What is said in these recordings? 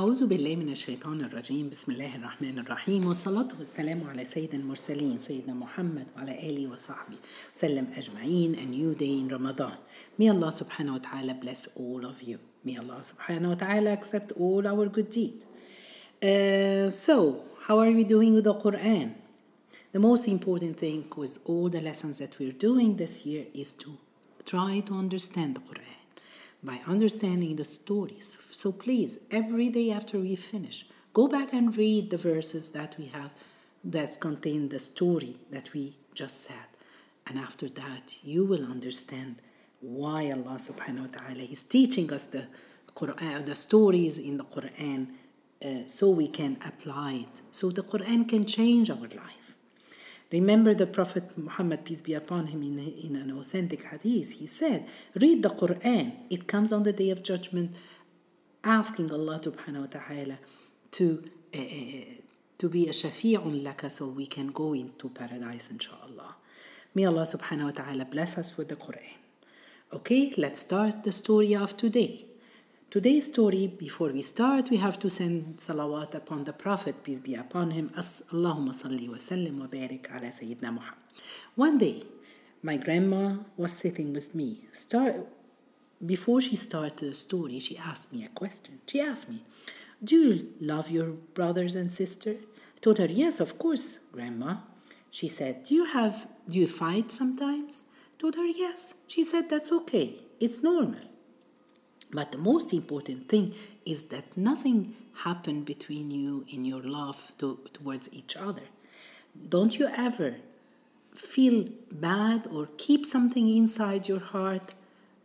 أعوذ بالله من الشيطان الرجيم. بسم الله الرحمن الرحيم، والصلاة والسلام على سيد المرسلين سيدنا محمد وعلى آله وصحبه وسلم أجمعين. A new day in Ramadan. May Allah subhanahu wa ta'ala bless all of you. May Allah subhanahu wa ta'ala accept all our good deeds. So, how are we doing with the Quran? The most important thing with all the lessons that we're doing this year is to try to understand the Quran by understanding the stories. So please, every day after we finish, go back and read the verses that we have that contain the story that we just said. And after that, you will understand why Allah subhanahu wa ta'ala is teaching us the Quran, the stories in the Quran, so we can apply it, so the Quran can change our life. Remember the Prophet Muhammad, peace be upon him, in an authentic hadith, he said, read the Quran. It comes on the day of judgment, asking Allah subhanahu wa ta'ala to be a shafi'un laka, so we can go into paradise, inshallah. May Allah subhanahu wa ta'ala bless us with the Quran. Okay, let's start the story of today. Today's story, before we start, we have to send salawat upon the Prophet, peace be upon him. Allahumma salli wa sallim wa barik ala Sayyidina Muhammad. One day, my grandma was sitting with me. Before she started the story, she asked me a question. She asked me, do you love your brothers and sisters? I told her, yes, of course, Grandma. She said, do you fight sometimes? I told her, yes. She said, that's okay. It's normal. But the most important thing is that nothing happened between you in your love towards each other. Don't you ever feel bad or keep something inside your heart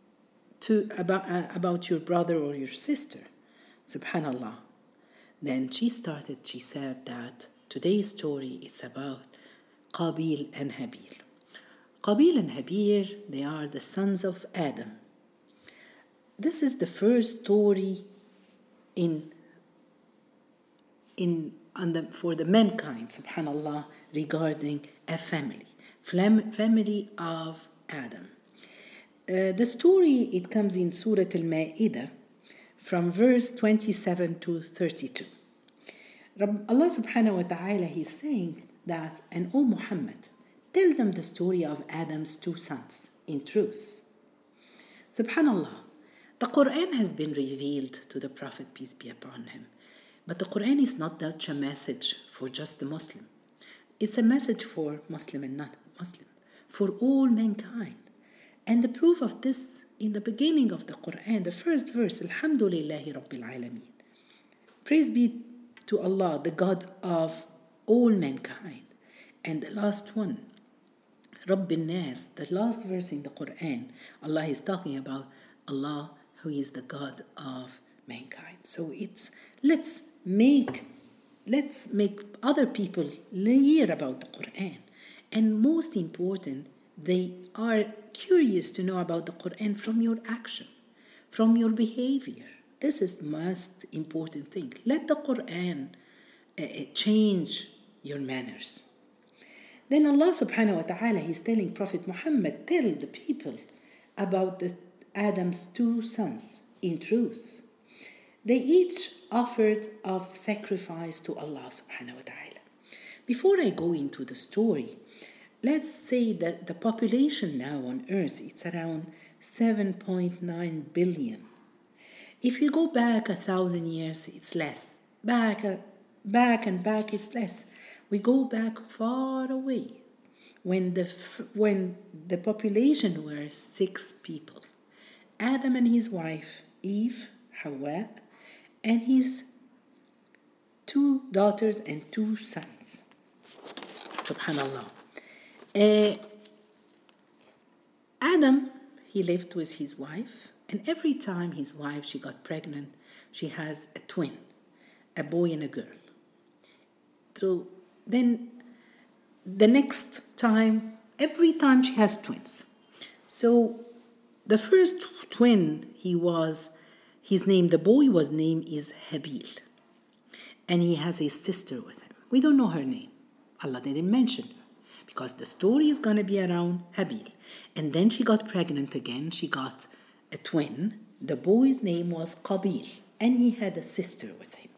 about your brother or your sister? Subhanallah. Then she said that today's story is about Qabil and Habil. Qabil and Habil, they are the sons of Adam. This is the first story for the mankind, subhanallah, regarding a family of Adam. The story, it comes in Surah Al-Ma'idah from verse 27 to 32. Allah subhanahu wa ta'ala, he's saying that, and O Muhammad, tell them the story of Adam's two sons in truth. Subhanallah. The Quran has been revealed to the Prophet, peace be upon him. But the Quran is not such a message for just the Muslim. It's a message for Muslim and non-Muslim, for all mankind. And the proof of this, in the beginning of the Quran, the first verse, Alhamdulillahi Rabbil Alameen. Praise be to Allah, the God of all mankind. And the last one, Rabbil Nas, the last verse in the Quran, Allah is talking about Allah, who is the God of mankind. So let's make other people hear about the Quran. And most important, they are curious to know about the Quran from your action, from your behavior. This is the most important thing. Let the Quran change your manners. Then Allah subhanahu wa ta'ala, he's telling Prophet Muhammad, tell the people about Adam's two sons in truth. They each offered of sacrifice to Allah subhanahu wa ta'ala. Before I go into the story, let's say that the population now on earth, it's around 7.9 billion. If you go back 1,000 years, it's less. Back it's less. We go back far away when the population were 6 people. Adam and his wife, Eve, Hawa, and his 2 daughters and 2 sons. Subhanallah. Adam, he lived with his wife, and every time his wife, she got pregnant, she has a twin, a boy and a girl. So then the next time, every time she has twins. So the first twin, the boy was named is Habil. And he has a sister with him. We don't know her name. Allah didn't mention her. Because the story is going to be around Habil. And then she got pregnant again. She got a twin. The boy's name was Qabil. And he had a sister with him.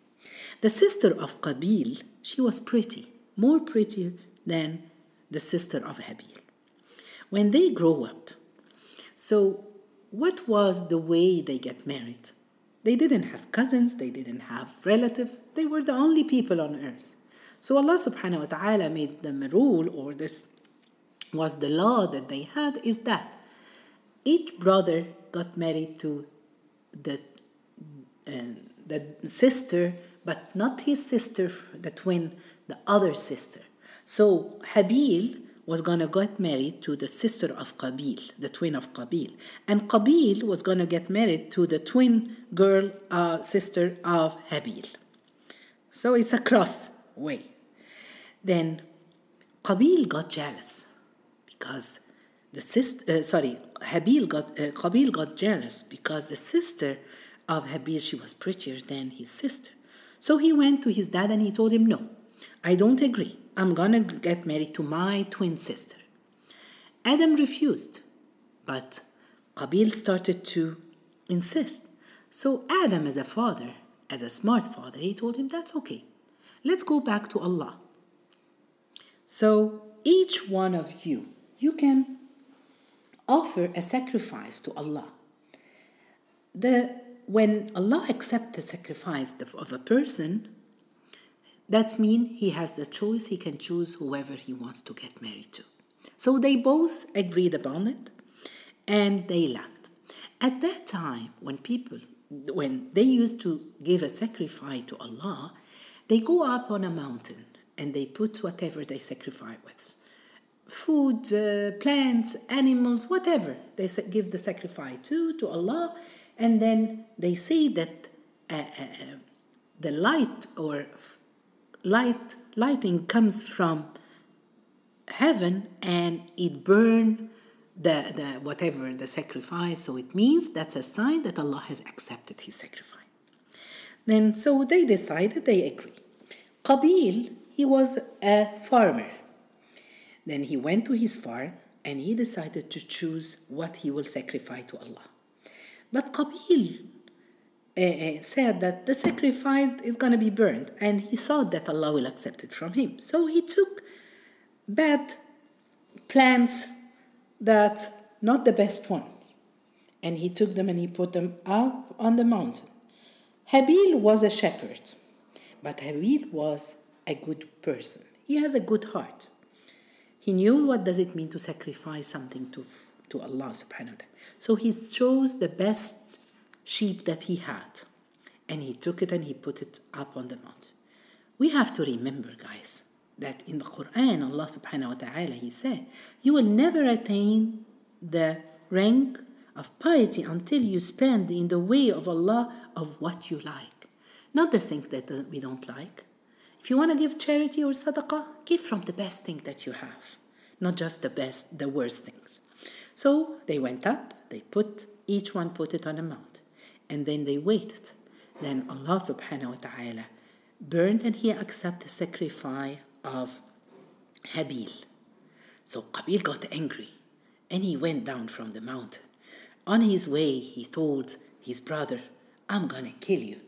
The sister of Qabil, she was pretty, more prettier than the sister of Habil. When they grow up, so what was the way they get married? They didn't have cousins, they didn't have relatives, they were the only people on earth. So Allah subhanahu wa ta'ala made them a rule, or this was the law that they had, is that each brother got married to the sister, but not his sister, the twin, the other sister. So Habil was going to get married to the sister of Qabil, the twin of Qabil. And Qabil was going to get married to the twin girl, sister of Habil. So it's a cross way. Then Qabil got jealous because Qabil got jealous because the sister of Habil, she was prettier than his sister. So he went to his dad and he told him, no, I don't agree. I'm going to get married to my twin sister. Adam refused, but Qabil started to insist. So Adam, as a father, as a smart father, he told him, that's okay. Let's go back to Allah. So each one of you can offer a sacrifice to Allah. When Allah accepts the sacrifice of a person, that means he has the choice. He can choose whoever he wants to get married to. So they both agreed upon it, and they left. At that time, when they used to give a sacrifice to Allah, they go up on a mountain and they put whatever they sacrifice with. Food, plants, animals, whatever. They give the sacrifice to Allah, and then they say that the lighting comes from heaven and it burns the whatever the sacrifice. So it means that's a sign that Allah has accepted his sacrifice. Then so they decided, they agree. Qabil, he was a farmer. Then he went to his farm and he decided to choose what he will sacrifice to Allah. But Qabil said that the sacrifice is going to be burned, and he thought that Allah will accept it from him. So he took bad plants, that not the best ones, and he took them and he put them up on the mountain. Habil was a shepherd, but Habil was a good person. He has a good heart. He knew what does it mean to sacrifice something to Allah subhanahu wa ta'ala. So he chose the best sheep that he had, and he took it and he put it up on the mountain. We have to remember, guys, that in the Quran, Allah subhanahu wa ta'ala, he said, you will never attain the rank of piety until you spend in the way of Allah of what you like. Not the things that we don't like. If you want to give charity or sadaqah, give from the best thing that you have, not just the worst things. So they went up, each one put it on a mount, and then they waited. Then Allah subhanahu wa ta'ala burned and he accepted the sacrifice of Habil. So Qabil got angry and he went down from the mountain. On his way, he told his brother, I'm going to kill you.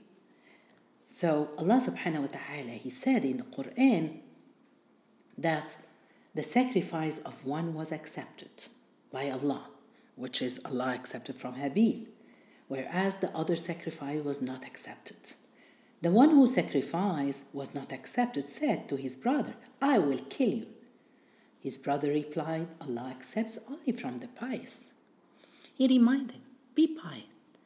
So Allah subhanahu wa ta'ala, he said in the Quran that the sacrifice of one was accepted by Allah, which is Allah accepted from Habil, whereas the other sacrifice was not accepted. The one who sacrificed was not accepted said to his brother, I will kill you. His brother replied, Allah accepts only from the pious. He reminded him, be pious.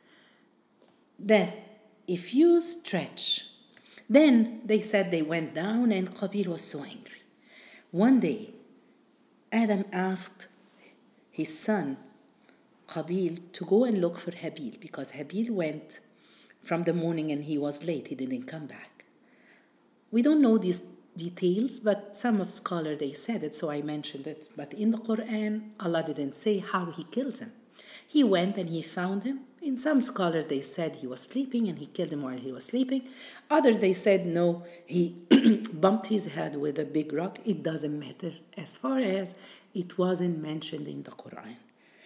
That if you stretch, then they said they went down and Qabil was so angry. One day, Adam asked his son Qabil to go and look for Habil, because Habil went from the morning and he was late, he didn't come back. We don't know these details, but some of scholars, they said it, so I mentioned it. But in the Quran, Allah didn't say how he killed him. He went and he found him. In some scholars, they said he was sleeping and he killed him while he was sleeping. Others, they said no, he bumped his head with a big rock. It doesn't matter as far as it wasn't mentioned in the Quran.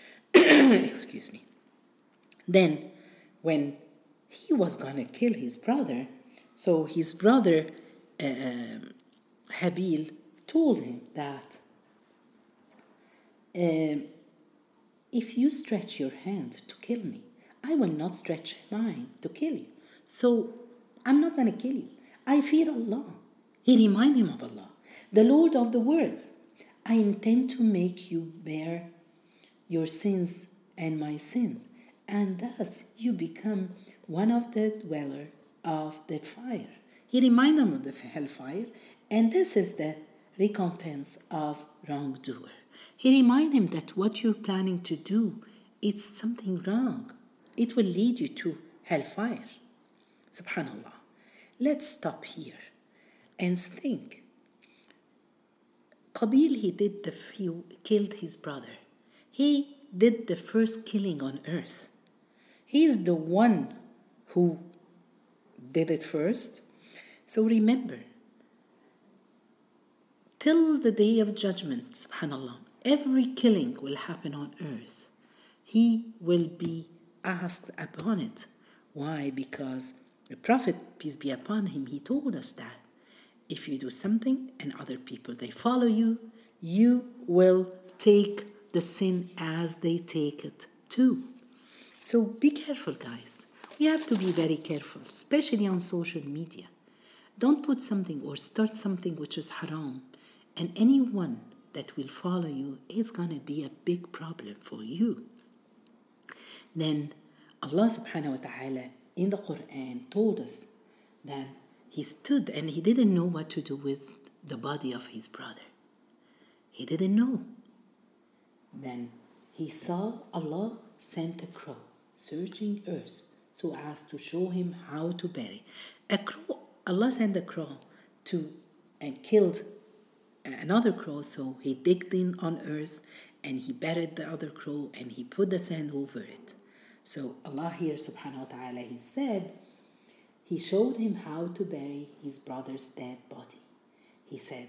Excuse me. Then, when he was going to kill his brother, So his brother Habil told him that if you stretch your hand to kill me, I will not stretch mine to kill you. So I'm not going to kill you. I fear Allah. He reminded him of Allah, the Lord of the worlds. I intend to make you bear your sins and my sins, and thus you become one of the dweller of the fire. He reminded him of the hellfire, and this is the recompense of wrongdoer. He reminded him that what you're planning to do is something wrong. It will lead you to hellfire. Subhanallah. Let's stop here and think. Qabil, he killed his brother. He did the first killing on earth. He is the one who did it first. So remember, till the day of judgment, subhanallah, every killing will happen on earth. He will be asked upon it. Why? Because the Prophet, peace be upon him, he told us that if you do something and other people, they follow you, you will take the sin as they take it too. So be careful, guys. We have to be very careful, especially on social media. Don't put something or start something which is haram, and anyone that will follow you is going to be a big problem for you. Then Allah subhanahu wa ta'ala in the Quran told us that he stood and he didn't know what to do with the body of his brother. He didn't know. Then he saw Allah sent a crow searching earth so as to show him how to bury. Allah sent a crow and killed another crow, so he digged in on earth and he buried the other crow and he put the sand over it. So Allah here subhanahu wa ta'ala, he said, he showed him how to bury his brother's dead body. He said,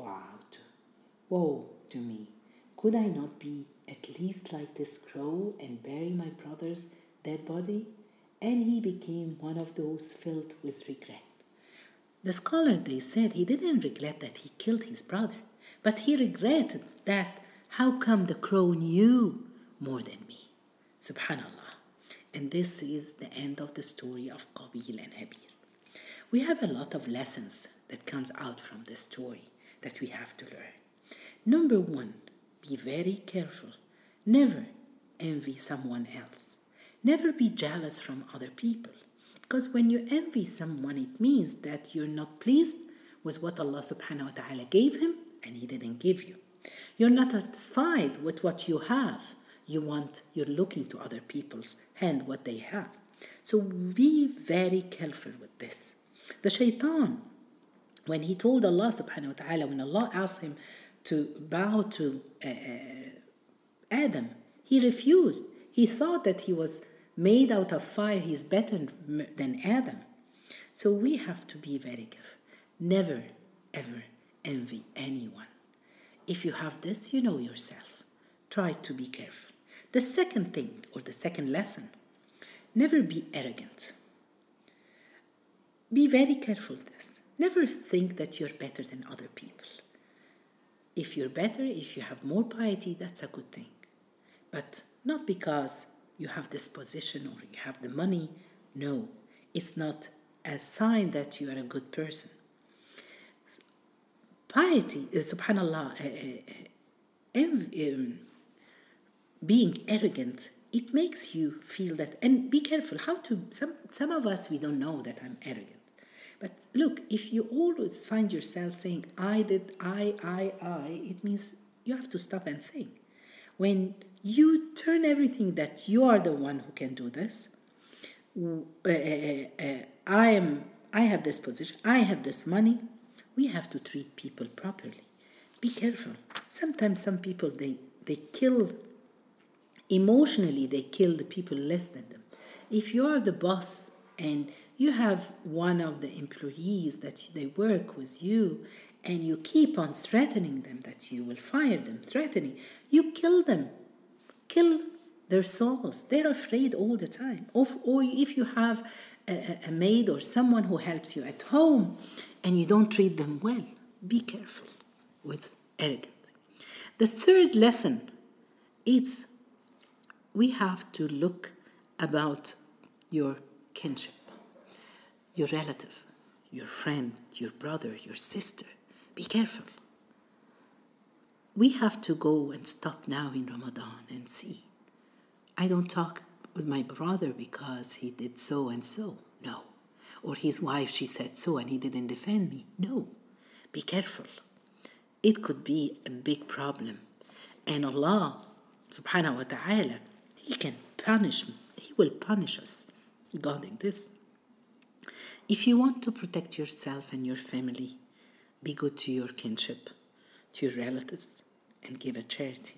woe to me. Could I not be at least like this crow and bury my brother's dead body? And he became one of those filled with regret. The scholars, they said he didn't regret that he killed his brother, but he regretted that how come the crow knew more than me? Subhanallah. And this is the end of the story of Qabil and Habil. We have a lot of lessons that comes out from this story that we have to learn. Number one, be very careful. Never envy someone else. Never be jealous from other people. Because when you envy someone, it means that you're not pleased with what Allah subhanahu wa ta'ala gave him and he didn't give you. You're not satisfied with what you have. You're looking to other people's hand, what they have. So be very careful with this. The shaitan, when he told Allah subhanahu wa ta'ala, when Allah asked him to bow to Adam, he refused. He thought that he was made out of fire, he's better than Adam. So we have to be very careful. Never, ever envy anyone. If you have this, you know yourself. Try to be careful. The second thing, or the second lesson, never be arrogant. Be very careful with this. Never think that you're better than other people. If you're better, if you have more piety, that's a good thing. But not because you have this position or you have the money. No, it's not a sign that you are a good person. Piety is, subhanallah, being arrogant, it makes you feel that, and be careful some of us, we don't know that I'm arrogant. But look, if you always find yourself saying, I did, I, it means you have to stop and think. When you turn everything that you are the one who can do this, I have this position, I have this money, we have to treat people properly. Be careful. Sometimes some people, they kill, emotionally they kill the people less than them. If you are the boss and you have one of the employees that they work with you and you keep on threatening them that you will fire them, you kill them. Kill their souls. They're afraid all the time. Or if you have a maid or someone who helps you at home and you don't treat them well, be careful with arrogance. The third lesson is we have to look about your kinship, your relative, your friend, your brother, your sister. Be careful. We have to go and stop now in Ramadan and see. I don't talk with my brother because he did so and so. No. Or his wife, she said so and he didn't defend me. No. Be careful. It could be a big problem. And Allah subhanahu wa ta'ala, He will punish us regarding this. If you want to protect yourself and your family, be good to your kinship, to your relatives, and give a charity.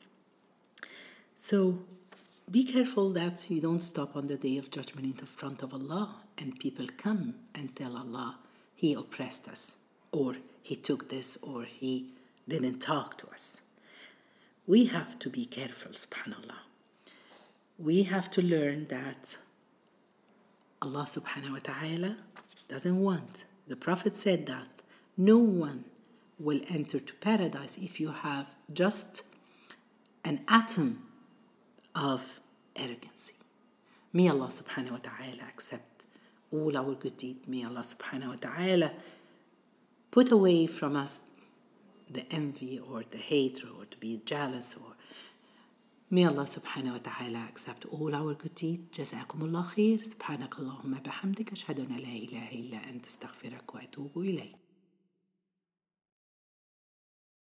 So be careful that you don't stop on the day of judgment in front of Allah and people come and tell Allah, He oppressed us, or He took this, or He didn't talk to us. We have to be careful, subhanAllah. We have to learn that Allah subhanahu wa ta'ala doesn't want. The Prophet said that no one will enter to paradise if you have just an atom of arrogancy. May Allah subhanahu wa ta'ala accept all our good deeds. May Allah subhanahu wa ta'ala put away from us the envy or the hatred or to be jealous, or may Allah subhanahu wa ta'ala accept all our good deeds. Jazakumullah khair. Subhanakallahumma bihamdika ashhadu an la ilaha illa anta astaghfiruka wa atubu ilayk.